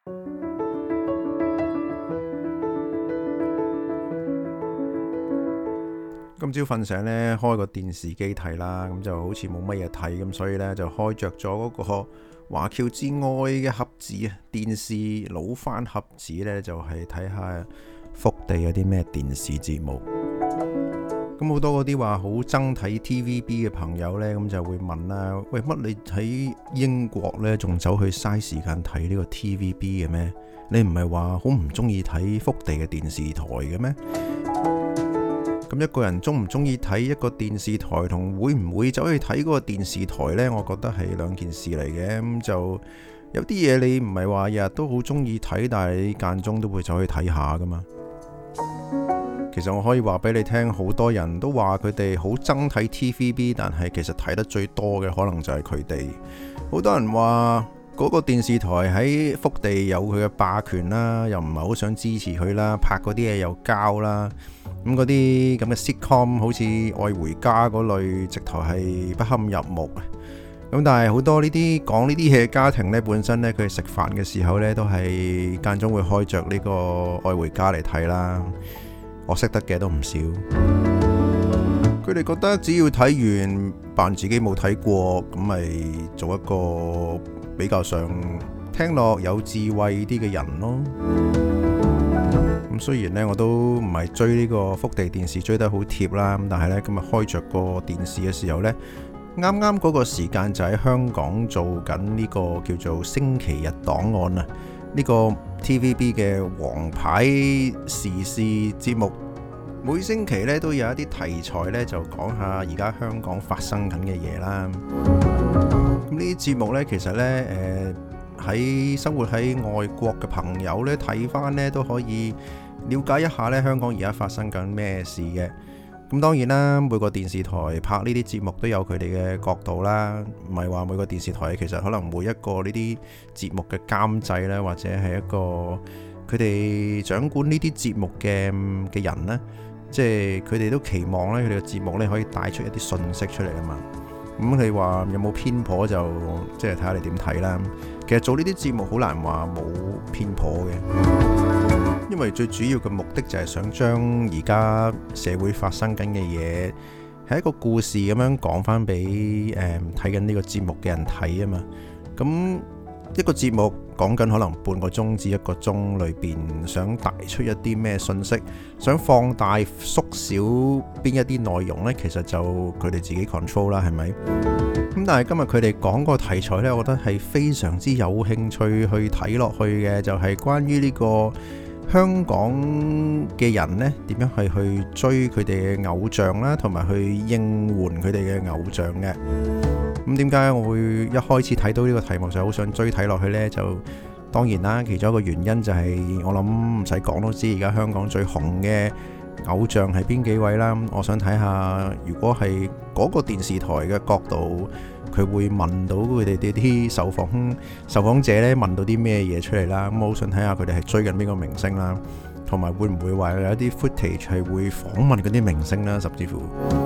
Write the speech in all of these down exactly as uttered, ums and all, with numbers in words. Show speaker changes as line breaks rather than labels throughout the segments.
今朝瞓醒呢，開個電視機睇啦，咁就好似冇乜嘢睇，咁所以呢，就開着咗嗰個華僑之愛嘅盒子啊，電視老翻盒子呢，就係睇下福地有啲咩電視節目。咁好多嗰啲話好憎睇 T V B 嘅朋友呢，咁就會問啦，喂，乜你喺英國呢，仲走去嘥時間睇呢個 T V B 嘅咩？你唔係話好唔中意睇福地嘅電視台嘅咩？咁一個人中唔中意睇一個電視台，同會唔會走去睇嗰個電視台呢？我覺得係兩件事嚟嘅。咁就有啲嘢你唔係話日日都好中意睇，但係你間中都會走去睇下噶嘛。其實我可以話俾你聽，好多人都話佢哋好憎睇 T V B， 但係其實睇得最多嘅可能就係佢哋。好多人話嗰個電視台喺福地有佢嘅霸權啦，又唔係好想支持佢啦，拍嗰啲嘢又膠啦。咁嗰啲咁嘅 sitcom 好似愛回家嗰類，直頭係不堪入目。咁但係好多呢啲講呢啲嘢嘅家庭呢，本身呢，佢哋食飯嘅時候呢，都係間中會開着呢個愛回家嚟睇啦。我識得嘅都唔少。佢哋覺得只要睇完扮自己冇睇過，咁咪做一個比較上聽落有智慧啲嘅人咯。咁雖然呢，我都唔係追呢個福地電視追得好貼啦，咁但係呢，今日開着個電視嘅時候呢，啱啱嗰個時間就喺香港做緊呢個叫做星期日檔案啊，呢個 T V B 嘅王牌時事節目，每星期呢都有一啲題材呢，就講下而家香港發生緊嘅嘢啦。咁呢啲節目呢，其實呢，誒、呃、喺生活喺外國嘅朋友呢，睇翻呢都可以了解一下咧，香港而家發生緊咩事嘅。咁當然啦，每個電視台拍呢啲節目都有佢哋嘅角度啦，唔係話每個電視台其實可能每一個呢啲節目嘅監製咧，或者係一個佢哋掌管呢啲節目嘅嘅人呢，即係佢哋都期望咧，佢哋嘅節目咧可以帶出一啲信息出嚟啊嘛。咁你話有冇偏頗就即係睇下你點睇啦。其實做呢啲節目好難話冇偏頗嘅，因為最主要嘅目的就係想將而家社會發生緊嘅嘢係一個故事咁樣講翻俾誒睇緊呢個節目嘅人睇啊嘛。咁一個節目講緊可能半個鐘至一個鐘裏邊，想帶出一啲咩信息，想放大縮小邊一啲內容呢？其實就佢哋自己 control 啦，係咪？咁但係今日佢哋講個題材呢，我覺得係非常之有興趣去睇落去嘅，就係關於呢個香港嘅人呢點樣係去追佢哋嘅偶像啦，同埋去應援佢哋嘅偶像嘅。咁點解我會一開始睇到呢個題目就好想追睇落去呢？就當然啦，其中一個原因就係我諗唔使講都知，而家香港最紅嘅偶像係邊幾位啦。我想睇下，如果係嗰個電視台嘅角度，佢會問到佢哋啲受訪受訪者呢，問到啲咩嘢出嚟啦。咁我好想睇下佢哋係追緊邊個明星啦，同埋會唔會話有一啲 footage 係會訪問嗰啲明星啦，甚至乎。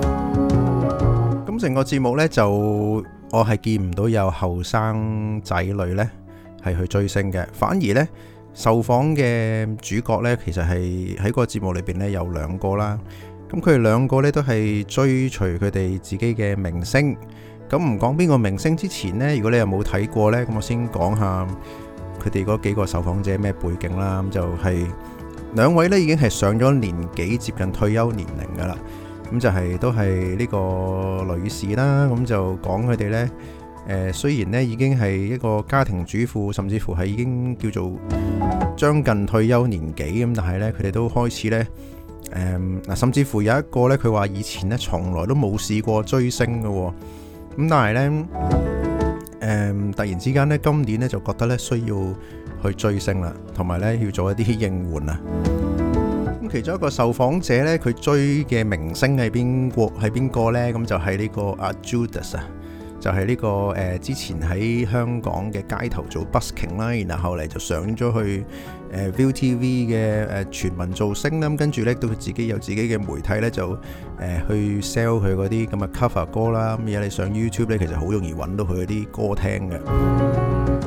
咁成個節目呢，就我係見唔到有後生仔女呢係去追星嘅，反而呢，受訪嘅主角呢，其實係喺個節目裏邊呢有兩個啦。咁佢哋兩個呢都係追隨佢哋自己嘅明星。咁唔講邊個明星之前呢，如果你又冇睇過呢，咁我先講下佢哋嗰幾個受訪者咩背景啦。咁就係兩位呢已經係上咗年紀，接近退休年齡噶啦。咁就係都係呢個女士啦。咁就講佢哋呢，誒雖然呢已經係一個家庭主婦，甚至乎係已經叫做將近退休年紀咁，但係呢，佢哋都開始呢，誒嗱，甚至乎有一個呢，佢話以前呢從來都冇試過追星嘅。咁但係呢，誒突然之間呢，今年呢就覺得呢需要去追星啦，同埋呢要做一啲應援啊。咁其中一個受訪者呢，佢追嘅明星係邊個？係邊個呢？咁就係呢個阿 Judas 啊，就係呢個誒之前喺香港嘅街頭做 busking 啦，然後後嚟就上咗去誒 ViuTV 嘅誒全民造星啦，咁跟住咧都佢自己有自己嘅媒體咧就誒去 sell 佢嗰啲咁嘅 cover 歌啦，咁而家你上 YouTube 咧其實好容易揾到佢嗰啲歌聽嘅。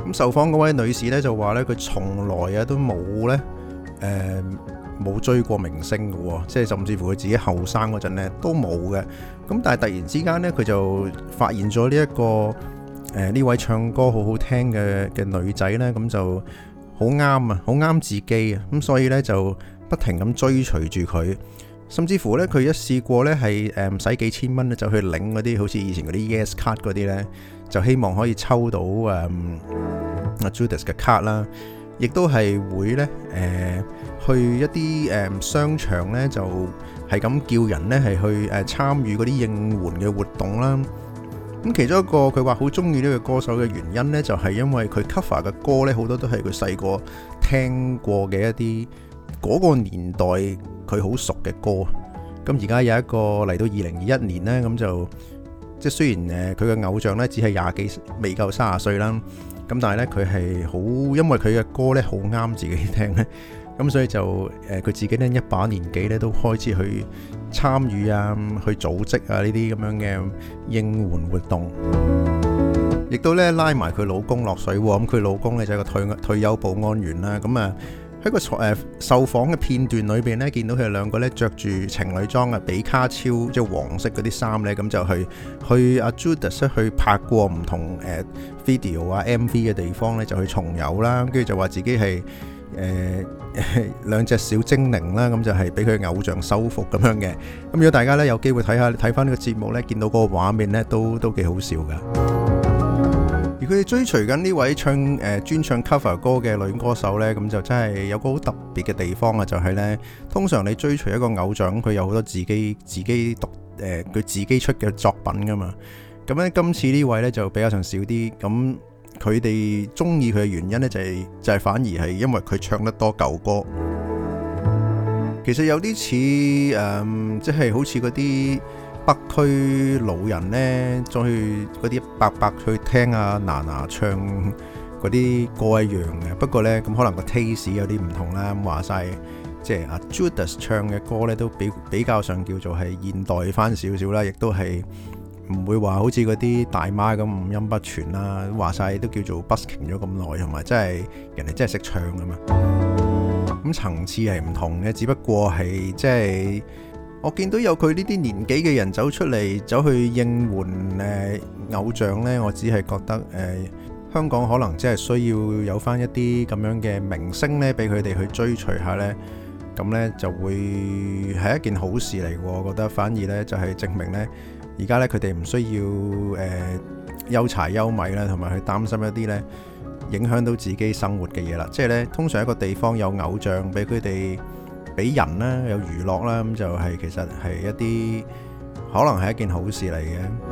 咁受訪嗰位女士咧就話咧，佢從來啊都冇咧誒冇追過明星嘅，即係甚至乎佢自己後生嗰陣咧都冇嘅。咁但係突然之間咧，佢就發現咗呢一個誒呢、呃、位唱歌好好聽嘅嘅女仔咧，咁就好啱啊，好啱自己啊。咁所以咧就不停咁追隨住佢，甚至乎咧佢一試過咧係誒唔使幾千蚊咧就去領嗰啲好似以前嗰啲 Yes 卡嗰啲咧，就希望可以抽到誒阿、嗯、Judas 嘅卡啦。亦都係會咧，誒、呃、去一啲誒、呃、商場咧，就係咁叫人咧係去誒參與嗰啲應援嘅活動啦。咁其中一個佢話好中意呢個歌手嘅原因咧，就係、是、因為佢 cover 嘅歌咧，好多都係佢細個聽過嘅一啲嗰個年代佢好熟嘅歌。咁而家有一個嚟到二零二一年咧，咁就即係雖然誒佢嘅偶像咧只係廿幾未夠三十歲啦。咁但係咧，佢係好，因為佢嘅歌咧好啱自己聽咧，咁所以就誒佢、呃、自己咧一把年紀咧都開始去參與啊，去組織啊呢啲咁樣嘅應援活動，亦都咧拉埋佢老公落水喎。咁佢老公咧就係個退退休保安員啦。咁啊喺個誒、呃、受訪嘅片段裏邊咧，見到佢哋兩個咧着住情侶裝啊，比卡超即係黃色嗰啲衫咧，咁就去去阿 Judas 去拍過唔同誒、呃、video 啊 M V 嘅地方咧，就去重遊啦。跟住就話自己係誒、呃、兩隻小精靈啦，咁就係俾佢偶像收服咁樣嘅。咁如果大家咧有機會睇下睇翻呢個節目咧，見到嗰個畫面咧，都都幾好笑噶。而佢哋追隨緊呢位唱誒、呃、專唱 cover 歌嘅女歌手呢，咁就真係有個好特別嘅地方啊！就係、是、呢，通常你追隨一個偶像，佢有好多自己自己讀誒佢、呃、自己出嘅作品噶嘛。咁咧今次呢位呢，就比較上少啲。咁佢哋中意佢嘅原因呢，就係、是、就係、是、反而係因為佢唱得多舊歌。其實有啲似誒，即係好似嗰啲北區老人呢，再去嗰啲伯伯去聽阿娜娜唱嗰啲歌一樣嘅。不過呢，咁可能個 taste 有啲唔同啦。咁話晒，即係阿 Judas 唱嘅歌呢，都比比較上叫做係現代翻少少啦，亦都係唔會話好似嗰啲大媽咁五音不全啦。話晒都叫做 busking 咗咁耐，同埋真係人哋真係識唱㗎嘛。咁層次係唔同嘅，只不過係即係。我見到有佢呢啲年紀嘅人走出嚟，走去應援誒、呃、偶像呢，我只係覺得誒、呃、香港可能真係需要有翻一啲咁樣嘅明星呢，俾佢哋去追隨下呢。咁呢就會係一件好事嚟。我覺得反而呢，就係、是、證明呢，而家呢，佢哋唔需要誒憂柴憂米啦，同埋去擔心一啲呢影響到自己生活嘅嘢啦。即係呢，通常一個地方有偶像俾佢哋。俾人啦，有娛樂啦，咁就係其實係一啲可能係一件好事嚟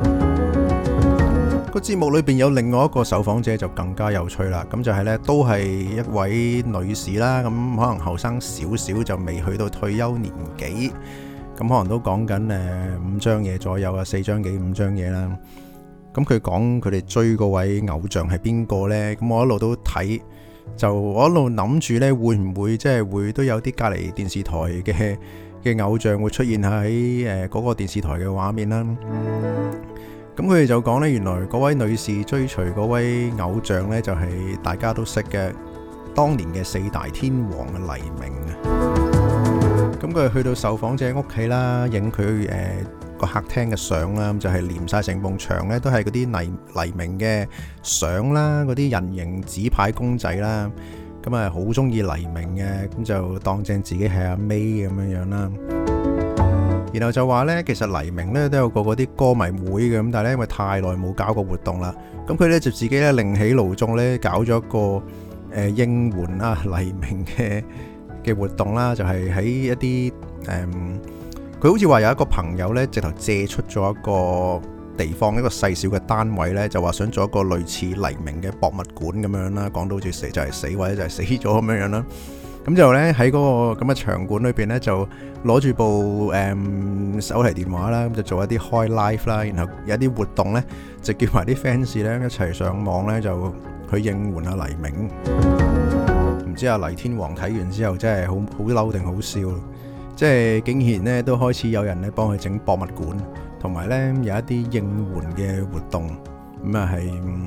嘅。個節目裏邊有另外一個受訪者就更加有趣啦。咁就係呢，都係一位女士啦。咁可能後生少少就未去到退休年紀，咁可能都講緊誒五張嘢左右啊，四張幾五張嘢啦。咁佢講佢哋追嗰位偶像係邊個呢？咁我一路都睇。就我一路諗住咧，會唔會即係會都有啲隔離電視台嘅嘅偶像會出現喺誒嗰個電視台嘅畫面啦。咁佢哋就講咧，原來嗰位女士追隨嗰位偶像咧，就係大家都識嘅當年嘅四大天王嘅黎明啊。咁佢去到受訪者屋企啦，影佢誒個客廳嘅相啦，咁就係連晒成埲牆咧，都係嗰啲黎黎明嘅相啦，嗰啲人形紙牌公仔啦，咁啊好中意黎明嘅，咁就當正自己係阿 May 咁樣樣啦。然後就話呢，其實黎明呢都有個嗰啲歌迷會嘅，咁但係咧因為太耐冇搞過活動啦，咁佢呢就自己咧另起爐灶咧搞咗一個誒、呃、應援啊黎明嘅嘅活動啦，就係、是、喺一啲誒。嗯佢好似話有一個朋友呢，直頭借出咗一個地方，一個細小嘅單位呢，就話想做一個類似黎明嘅博物館咁樣啦。講到好似死就係死，或者就係死咗咁樣樣啦。咁就呢，喺嗰個咁嘅場館裏邊呢，就攞住部誒、嗯、手提電話啦，咁就做一啲開 live 啦，然後有啲活動呢，就叫埋啲 fans 呢一齊上網呢，就去應援下黎明。唔知阿黎天王睇完之後真係好好嬲定好笑？即係竟然咧都開始有人咧幫佢整博物館，同埋咧有一啲應援嘅活動，咁啊係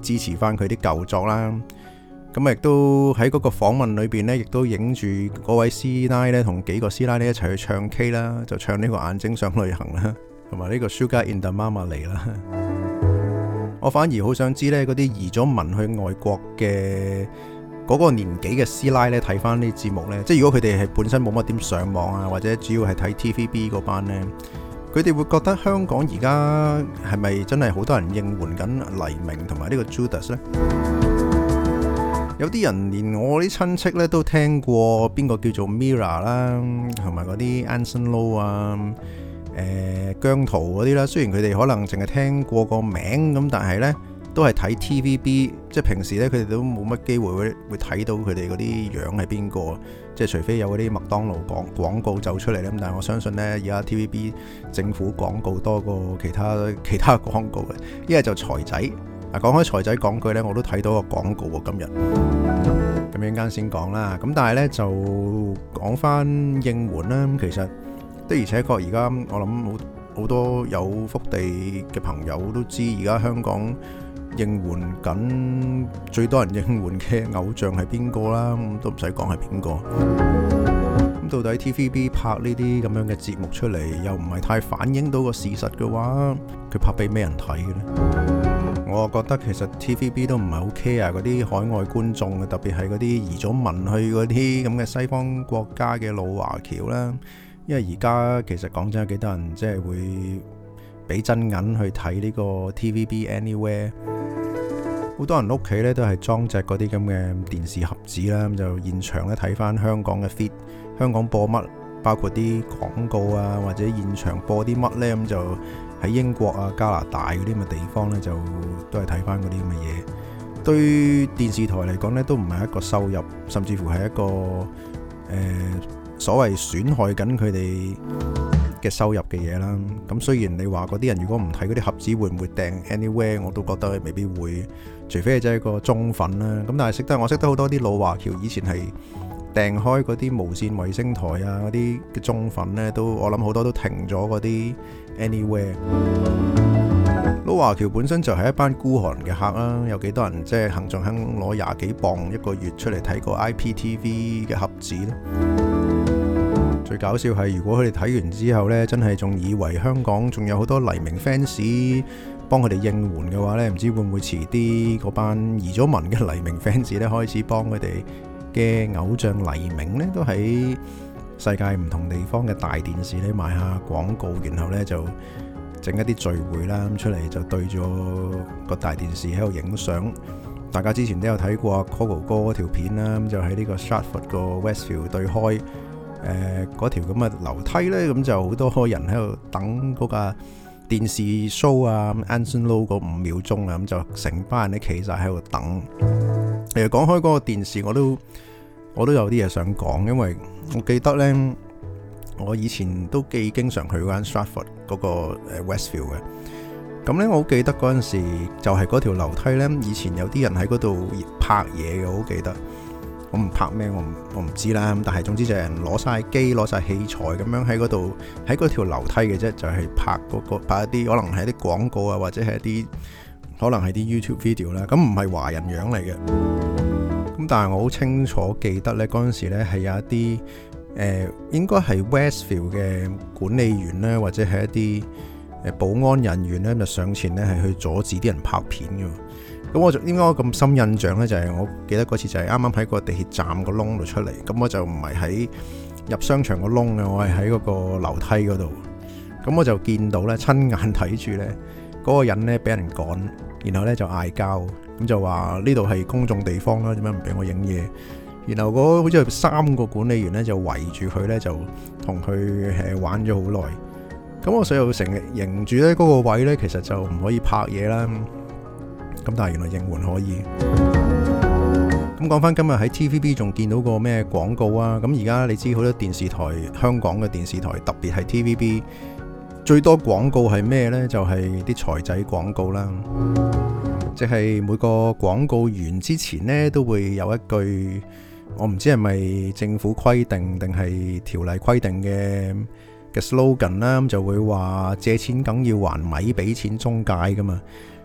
支持翻佢啲舊作啦。咁亦都喺嗰個訪問裏邊呢，亦都影住嗰位師奶呢，同幾個師奶呢一齊去唱 K 啦，就唱呢個眼睛想旅行啦，同埋呢個 Sugar in the Marmalade 啦。我反而好想知呢，嗰啲移咗民去外國嘅嗰個年紀嘅師奶呢，睇翻呢啲節目呢，即係如果佢哋係本身冇乜點上網啊，或者主要係睇 T V B 嗰班呢，佢哋會覺得香港而家係咪真係好多人應援緊黎明同埋呢個 Judas 呢？有啲人連我啲親戚咧都聽過邊個叫做 Mira 啦，同埋嗰啲 Anson Lo 啊、誒姜濤嗰啲啦。雖然佢哋可能淨係聽過個名咁，但係呢都係睇 T V B， 即係平時呢，佢哋都冇乜機會會會睇到佢哋嗰啲樣係邊個，即係除非有嗰啲麥當勞廣廣告走出嚟咧。咁但係我相信呢，而家 T V B 政府廣告多過其他其他廣告嘅，一係就財仔。嗱，講開財仔講句呢，我都睇到個廣告喎，今日咁樣間先講啦。咁但係呢，就講翻應援啦。其實的而且確而家我諗好好多有福地嘅朋友都知，而家香港應援緊最多人應援嘅偶像係邊個啦？咁都唔使講係邊個。咁到底 T V B 拍呢啲咁樣嘅節目出嚟，又唔係太反映到個事實嘅話，佢拍俾咩人睇嘅呢？我覺得其實 T V B 都唔係好 care 嗰啲海外觀眾嘅，特別係嗰啲移咗民去嗰啲咁嘅西方國家嘅老華僑啦。因為而家其實講真有幾多人即係會俾真銀去睇呢個 T V B Anywhere， 好多人屋企咧都係裝隻嗰啲咁嘅電視盒子啦，咁就現場咧睇翻香港嘅 feed， 香港播乜，包括啲廣告啊，或者現場播啲乜呢，咁就喺英國啊、加拿大嗰啲咁嘅地方呢，就都係睇翻嗰啲咁嘅嘢。對電視台嚟講呢，都唔係一個收入，甚至乎係一個誒、呃、所謂損害緊佢哋嘅收入嘅嘢啦。咁雖然你話嗰啲人如果唔睇嗰啲盒子會唔會訂 Anywhere， 我都覺得未必會，除非係真係一個忠粉啦。咁但係識得我識得好多啲老華僑，以前係訂開嗰啲無線衛星台啊，嗰啲嘅忠粉呢，都我諗好多都停咗嗰啲 Anywhere。老華僑本身就係一班孤寒嘅客啦，有幾多人即係行仲肯攞廿幾磅一個月出嚟睇個 I P T V 嘅盒子呢？最搞笑係如果佢哋睇完之後呢，真係仲以為香港仲有好多黎明 fans 幫佢哋應援嘅話呢，唔知會唔會遲啲嗰班移咗民嘅黎明 fans 呢，開始幫佢哋嘅偶像黎明呢，都喺世界唔同地方嘅大電視呢賣下廣告，然後呢就整一啲聚會啦，咁出嚟就對住個大電視喺度影相。大家之前都有睇過阿 Coco 哥嗰條片啦，咁就喺呢個 Stratford 個 Westfield 對開誒嗰條咁嘅樓梯呢，咁就好多人喺度等嗰架電視 show 啊 Anson Lo 嗰五秒鐘啊，咁就成班人都企晒喺度等。其實講開嗰個電視，我都我都有啲嘢想講，因為我記得呢，我以前都幾經常去嗰間 Stratford 嗰個 Westfield 嘅。咁呢，我好記得嗰陣時就係嗰條樓梯呢，以前有啲人喺嗰度拍嘢嘅，我好記得。我唔拍咩，我唔我唔知啦。但係總之就係人攞晒機、攞晒器材咁樣喺嗰度，喺嗰條樓梯嘅啫，就係、是、拍嗰、嗰個拍一啲可能係一啲廣告啊，或者係一啲可能係啲 YouTube video 啦。咁唔係華人樣嚟嘅。咁但係我好清楚記得呢，嗰陣時呢係有一啲誒、呃，應該係 Westfield 嘅管理員呢，或者係一啲誒保安人員呢，就上前呢係去阻止啲人拍片嘅。咁我就應該咁深印象呢，就係我記得嗰次就係啱啱喺個地鐵站個窿度出嚟。咁我就唔係喺入商場個窿嘅，我係喺嗰個樓梯嗰度。咁我就見到呢，親眼睇住呢嗰個人呢俾人趕，然後呢就嗌交，咁就話呢度係公眾地方啦，點解唔俾我影嘢？然後嗰好似係三個管理員呢，就圍住佢呢，就同佢誒玩咗好耐。咁我所以成日認住呢嗰個位呢，其實就唔可以拍嘢啦。咁但係原來應援可以。咁講翻今日喺 T V B 仲見到個咩廣告啊？咁而家你知好多電視台，香港嘅電視台特別係 T V B 最多廣告係咩呢？就係啲財仔廣告啦。即係每個廣告完之前呢，都會有一句，我唔知係咪政府規定定係條例規定嘅嘅 slogan 啦，咁就會話借錢梗要還米俾錢中介噶嘛。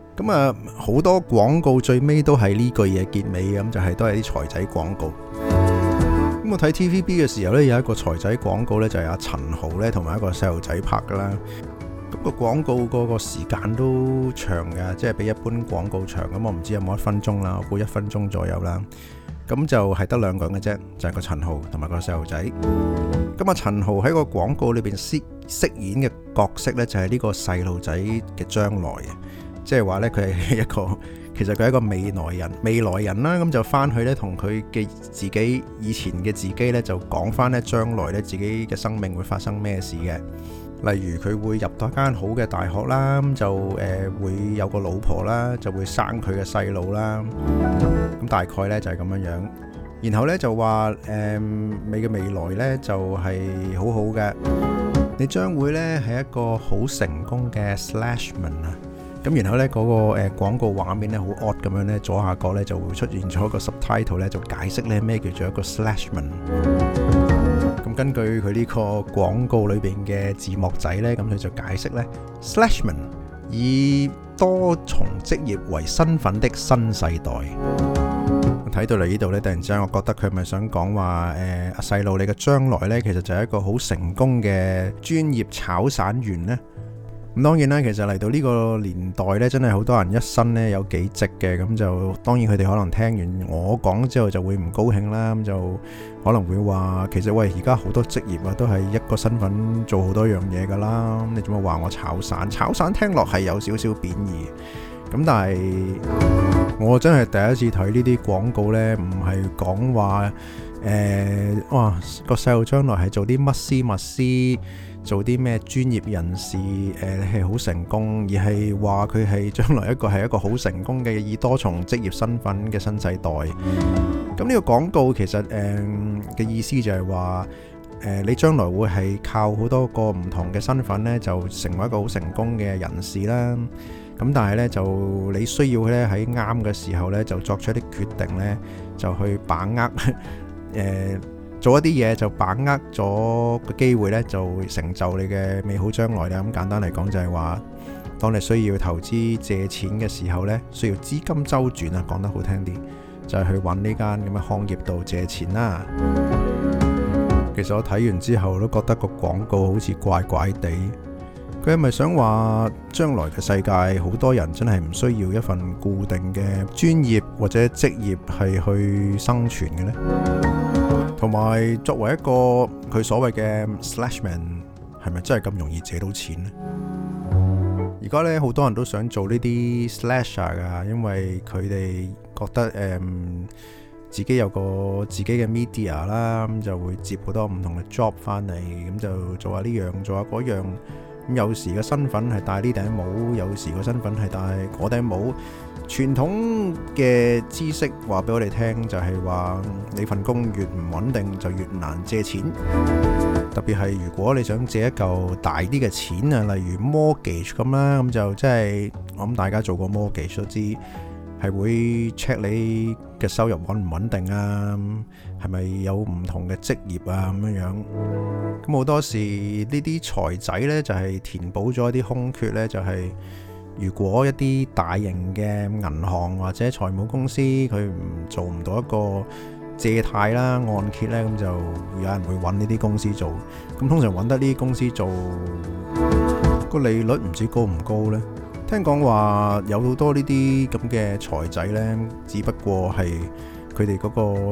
咁啊，好多廣告最尾都係呢句嘢結尾，咁就係、是、都係啲財仔廣告。咁我睇 T V B 嘅時候呢，有一個財仔廣告呢，就係阿陳豪呢同埋一個細路仔拍噶啦。咁、個廣告嗰個時間都長嘅，即係比一般廣告長。咁我唔知有冇一分鐘啦，我估一分鐘左右啦。咁就係得兩個人嘅啫，就係、是、個陳豪同埋個細路仔。咁啊，陳豪喺個廣告裏邊飾飾演嘅角色呢，就係呢個細路仔嘅將來。即係話呢，佢係一個，其實佢係一個未來人，未來人啦。咁就翻去呢，同佢嘅自己以前嘅自己呢，就講翻呢將來呢自己嘅生命會發生咩事嘅。例如佢會入到一間好嘅大學啦，咁就誒、呃、會有個老婆啦，就會生佢嘅細路啦。咁大概呢就係咁樣樣。然後呢，就話誒、呃、你嘅未來呢，就係、是、好好嘅，你將會呢係一個好成功嘅 slashman 啊。咁然後呢，嗰、那個誒、呃、廣告畫面呢，好 odd 咁樣呢，左下角呢就會出現咗一個 subtitle 呢，就解釋呢咩叫做一個 slashman。咁根據佢呢個廣告裏邊嘅字幕仔呢，咁佢就解釋呢 slashman 以多重職業為身份的新世代。睇到嚟呢度呢，突然之間我覺得佢係咪想講話誒，阿細路你嘅將來呢，其實就係一個好成功嘅專業炒散員呢。咁當然啦，其實嚟到呢個年代呢，真係好多人一生呢有幾職嘅，咁就當然佢哋可能聽完我講之後就會唔高興啦，咁就可能會話其實喂，而家好多職業啊都係一個身份做好多樣嘢噶啦，你做乜話我炒散？炒散聽落係有少少貶義，咁但係我真係第一次睇呢啲廣告呢，唔係講話誒哇個細路將來係做啲乜斯乜斯。做啲咩專業人士誒係好成功，而係話佢係將來一個係一個好成功嘅以多重職業身份嘅新世代。咁呢個廣告其實誒嘅、呃、意思就係話誒你將來會係靠好多個唔同嘅身份呢，就成為一個好成功嘅人士啦。咁但係呢，就你需要咧喺啱嘅時候呢，就作出一啲決定呢，就去把握誒。呃做一啲嘢就把握咗個機會呢，就會成就你嘅美好將來咧。咁簡單嚟講就係話，當你需要投資借錢嘅時候呢，需要資金周轉啊，講得好聽啲，就係去揾呢間咁嘅行業度借錢啦。其實我睇完之後都覺得個廣告好似怪怪地，佢係咪想話將來嘅世界好多人真係唔需要一份固定嘅專業或者職業係去生存嘅呢？同埋作為一個佢所謂嘅 slashman， 係咪真係咁容易借到錢呢？而家呢，好多人都想做呢啲 slasher 噶，因為佢哋覺得誒、嗯、自己有個自己嘅 media 啦，咁就會接好多唔同嘅 job 翻嚟，咁就做下呢樣做下嗰樣。咁有時嘅身份係戴呢頂帽，有時個身份係戴嗰頂帽。傳統嘅知識話俾我哋聽，就係話你份工越唔穩定，就越難借錢。特別係如果你想借一嚿大啲嘅錢啊，例如 mortgage 咁啦，咁就即係我諗大家做過 mortgage 都知，係會 check 你嘅收入穩唔穩定啊，係咪有唔同嘅職業啊咁樣樣。咁好多時呢啲財仔呢，就係填補咗一啲空缺呢，就係、是。如果一啲大型嘅銀行或者財務公司佢唔做唔到一個借貸啦、按揭呢，咁就有人會揾呢啲公司做。咁通常揾得呢啲公司做個利率唔知高唔高呢？聽講話有好多呢啲咁嘅財仔呢，只不過係佢哋嗰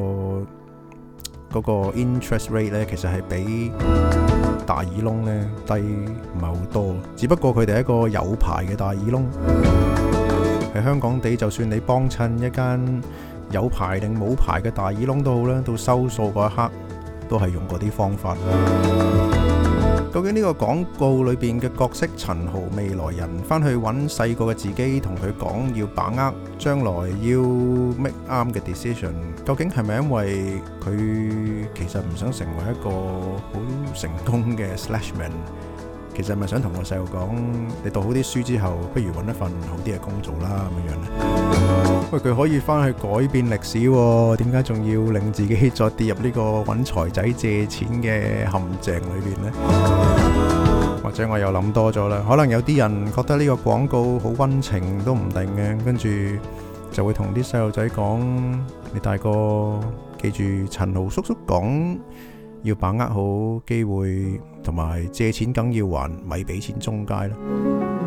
個嗰個 interest rate 呢，其實係比大耳窿咧低唔係好多，只不過佢哋係一個有牌嘅大耳窿。喺香港地，就算你幫襯一間有牌定冇牌嘅大耳窿都好啦，到收數嗰一刻都係用嗰啲方法。究竟呢個廣告裏邊嘅角色陳豪未來人翻去揾細個嘅自己，同佢講要把握將來要 make 啱嘅 decision， 究竟係咪因為佢其實唔想成為一個好成功嘅 slashman？ 其實係咪想同個細路講，你讀好啲書之後，不如揾一份好啲嘅工做啦咁樣樣呢？喂，佢可以翻去改變歷史喎，點解仲要令自己再跌入呢個揾財仔借錢嘅陷阱裏邊呢？ 或者我又諗多咗啦。可能有啲人覺得呢個廣告好溫情都唔定嘅，跟住就會同啲細路仔講：你大個記住陳豪叔叔講，要把握好機會，同埋借錢梗要還，咪俾錢中介啦。